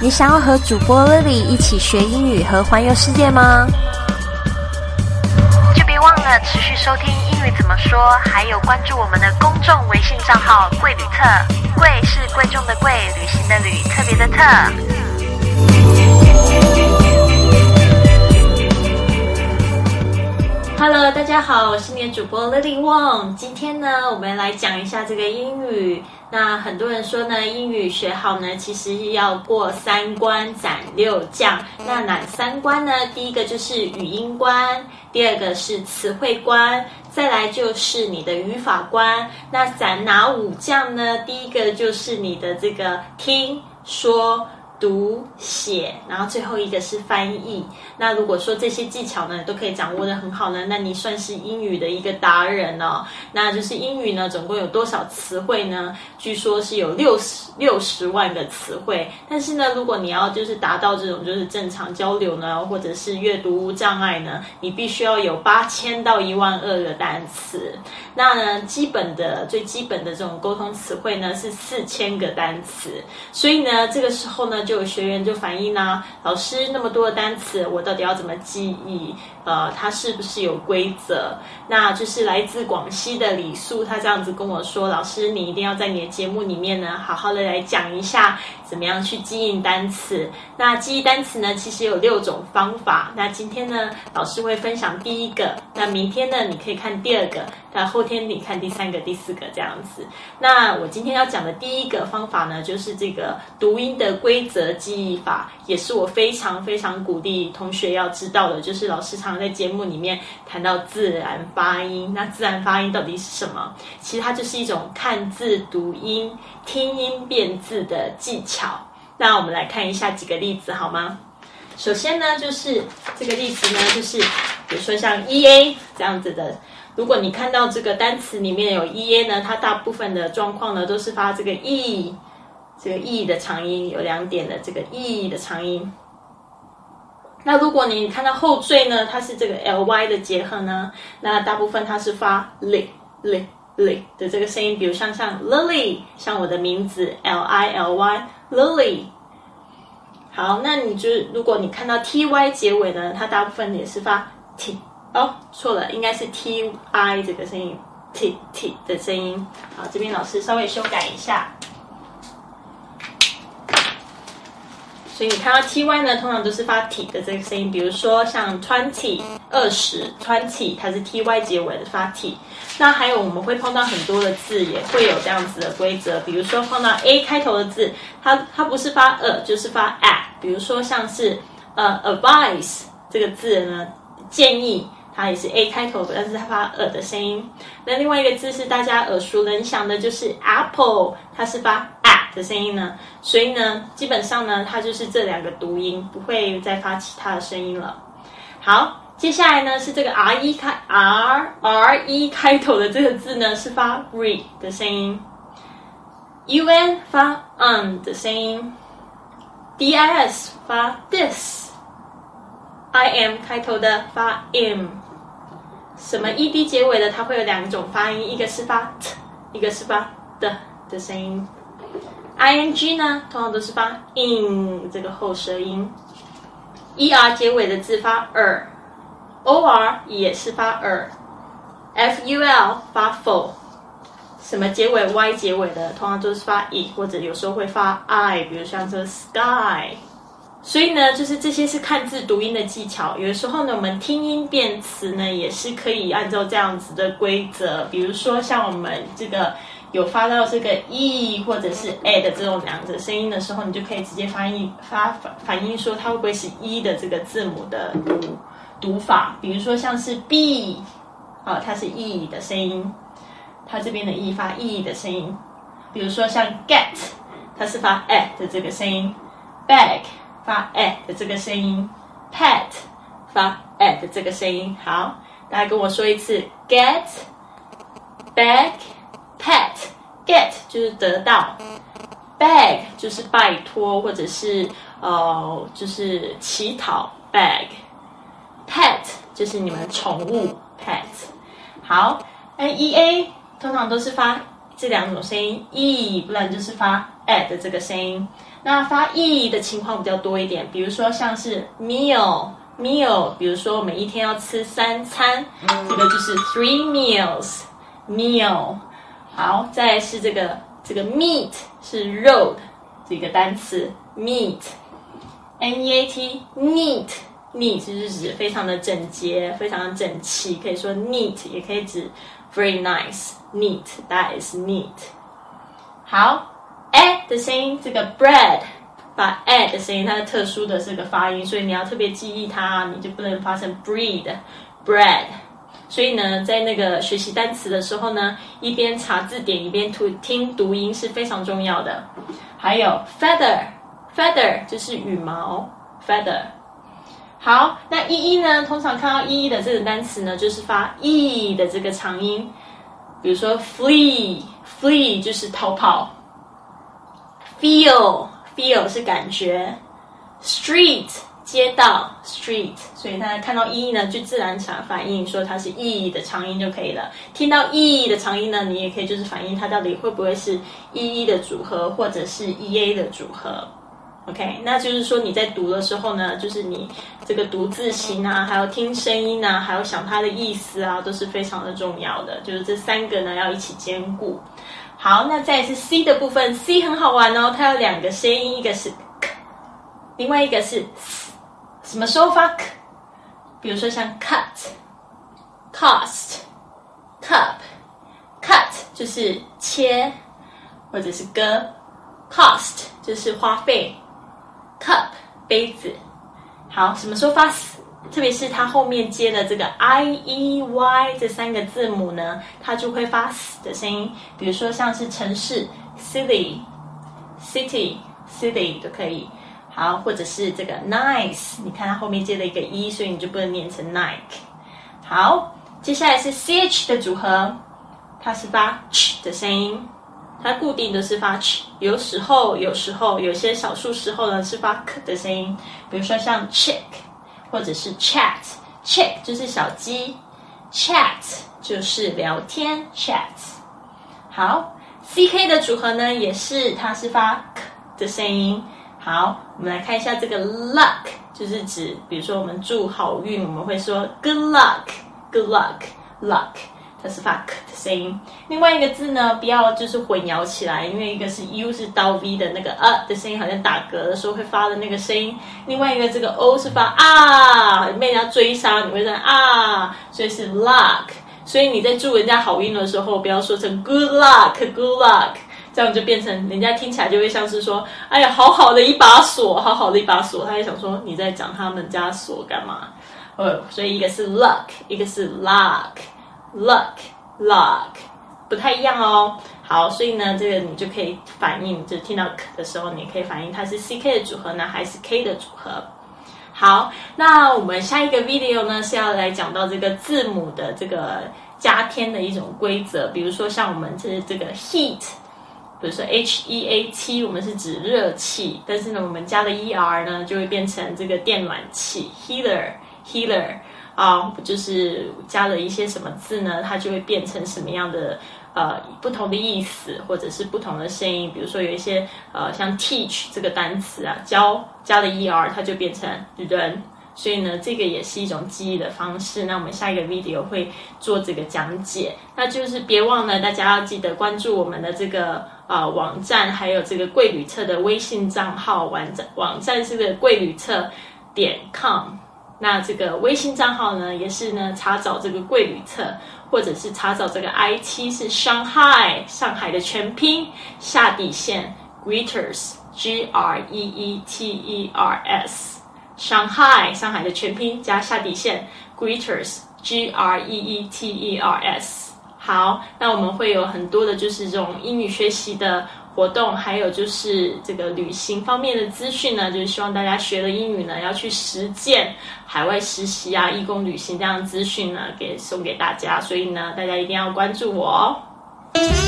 你想要和主播 Lily 一起学英语和环游世界吗？就别忘了持续收听英语怎么说，还有关注我们的公众微信账号贵旅特，贵是贵重的贵，旅行的旅，特别的特。Hello， 大家好，我是你的主播 Lily Wong。今天呢，我们来讲一下这个英语。那很多人说呢，英语学好呢，其实要过3关斩6将。那哪3关呢？第一个就是语音关，第二个是词汇关，再来就是你的语法关。那斩哪5将呢？第一个就是你的这个听说读写，然后最后一个是翻译。那如果说这些技巧呢都可以掌握得很好呢，那你算是英语的一个达人哦。那就是英语呢总共有多少词汇呢？据说是有60万个词汇。但是呢，如果你要就是达到这种就是正常交流呢，或者是阅读无障碍呢，你必须要有8000到12000个单词。那呢，最基本的这种沟通词汇呢是4000个单词。所以呢，这个时候呢，就有学员就反映啊，老师那么多的单词，我到底要怎么记忆？它是不是有规则？那就是来自广西的李素，他这样子跟我说，老师你一定要在你的节目里面呢，好好的来讲一下怎么样去记忆单词。那记忆单词呢，其实有6种方法。那今天呢，老师会分享第一个，那明天呢，你可以看第2个，那后天你看第3个、第4个这样子。那我今天要讲的第一个方法呢，就是这个读音的规则记忆法，也是我非常非常鼓励同学要知道的，就是老师常在节目里面谈到自然发音。那自然发音到底是什么？其实它就是一种看字读音、听音辨字的技巧。那我们来看一下几个例子好吗？首先呢，就是这个例子呢，就是比如说像 EA 这样子的，如果你看到这个单词里面有 EA 呢，它大部分的状况呢都是发这个 E， 这个 E 的长音，有2点的这个 E 的长音。那如果你看到后缀呢，它是这个 ly 的结合呢，那大部分它是发 ly 的这个声音，比如像 Lily， 像我的名字 Lily Lily。好，那你就如果你看到 ty 结尾呢，它大部分也是发 t， 错了，应该是 ti 这个声音 t 的声音。好，这边老师稍微修改一下。所以你看到 ty 呢，通常都是发 t 的这个声音，比如说像 20 20，它是 ty 结尾的发 t。那还有我们会碰到很多的字也会有这样子的规则，比如说碰到 a 开头的字，它不是发就是发 a， 比如说像是advice 这个字呢，建议，它也是 a 开头的，但是它发的声音。那另外一个字是大家耳熟能详的，就是 apple， 它是发的声音呢，所以呢，基本上呢，它就是这2个读音，不会再发其他的声音了。好，接下来呢是这个 re 开头的这个字呢，是发 re 的声音 ，un 发的声音 ，dis 发 dis，im 开头的发 im， 什么 ed 结尾的，它会有2种发音，一个是发 t， 一个是发的声音。ing 呢，通常都是发 in 这个后舌音 ，er 结尾的字发 or 也是发 ful 发 ful， 什么结尾 y 结尾的，通常都是发 e， 或者有时候会发 i， 比如像这个 sky。所以呢，就是这些是看字读音的技巧。有的时候呢，我们听音辨词呢，也是可以按照这样子的规则，比如说像我们这个有发到这个 e 或者是 a 的这种2个声音的时候，你就可以直接反映说它会不会是 e 的这个字母的读法。比如说像是 b， 它是 e 的声音，它这边的 e 发 e 的声音。比如说像 get， 它是发 a 的这个声音 ，bag 发 a 的这个声音 ，pet 发 a 的这个声音。好，大家跟我说一次 get。Pet 就是得到 ，beg 就是拜托或者是就是乞讨 beg，pet 就是你们的宠物 pet。好，ea 通常都是发这两种声音 e， 不然就是发 e 的这个声音。那发 e 的情况比较多一点，比如说像是 meal， 比如说我们一天要吃3餐，这个就是 3 meals。好，再来是这个 meat 是肉的这个单词 meat， neat neat 就是指非常的整洁，非常的整齐，可以说 neat， 也可以指 very nice neat， that is neat。 好 的声音，这个 bread 把 的声音，它的特殊的这个发音，所以你要特别记忆它，你就不能发成 bread。所以呢，在那个学习单词的时候呢，一边查字典一边听读音是非常重要的。还有 feather 就是羽毛 feather。好，那呢，通常看到的这个单词呢，就是发 e 的这个长音，比如说 flee 就是逃跑 ，feel 是感觉 ，street 街道 street， 所以大家看到呢，就自然想反应说它是 e 的长音就可以了。听到 e 的长音呢，你也可以就是反应它到底会不会是 的组合，或者是 ea 的组合。OK， 那就是说你在读的时候呢，就是你这个读字形啊，还有听声音啊，还有想它的意思啊，都是非常的重要的。就是这3个呢要一起兼顾。好，那再来是 C 的部分 ，C 很好玩哦，它有2个声音，一个是 k， 另外一个是 s。什么时候发 k？ 比如说像 cut、cost、cup。cut 就是切或者是割 ，cost 就是花费 ，cup 杯子。好，什么时候发 s？ 特别是它后面接的这个 i、e、y 这3个字母呢，它就会发 s 的声音。比如说像是城市 city、city 都可以。好，或者是这个 nice， 你看它后面接了一个 e， 所以你就不能念成 Nike。好，接下来是 ch 的组合，它是发 ch 的声音，它固定的是发 ch， 有时候有些少数时候呢是发 k 的声音，比如说像 chick 或者是 chat，chick 就是小鸡 ，chat 就是聊天 chat。好 ，ck 的组合呢也是它是发 k 的声音。好，我们来看一下这个 luck， 就是指，比如说我们祝好运，我们会说 good luck， 它是发 k 的声音。另外一个字呢，不要就是混淆起来，因为一个是 u 是刀 v 的那个的声音，好像打嗝的时候会发的那个声音。另外一个这个 o 是发被人家追杀，你会说所以是 luck。所以你在祝人家好运的时候，不要说成 good luck， 这样就变成人家听起来就会像是说，哎呀，好好的一把锁，他也想说你在讲他们家锁干嘛？所以一个是 luck， 一个是 luck， 不太一样哦。好，所以呢，这个你就可以反应，就听到 k 的时候，你可以反应它是 ck 的组合呢，还是 k 的组合。好，那我们下一个 video 呢是要来讲到这个字母的这个加添的一种规则，比如说像我们这个 heat。比如说 heat， 我们是指热气，但是呢，我们加了 er 呢，就会变成这个电暖器 heater 就是加了一些什么字呢，它就会变成什么样的不同的意思，或者是不同的声音。比如说有一些像 teach 这个单词啊，教加了 er， 它就变成人。所以呢，这个也是一种记忆的方式。那我们下一个 video 会做这个讲解。那就是别忘了，大家要记得关注我们的这个网站，还有这个贵旅特的微信账号。网站是个贵旅特.com。那这个微信账号呢，也是呢查找这个贵旅特，或者是查找这个 IT 是 Shanghai 上海的全拼下底线 Greeters Greeters。上海的全拼加下底线 Greeters Greeters。 好，那我们会有很多的就是这种英语学习的活动，还有就是这个旅行方面的资讯呢，就是希望大家学了英语呢要去实践海外实习啊、义工旅行这样的资讯呢送给大家，所以呢大家一定要关注我哦。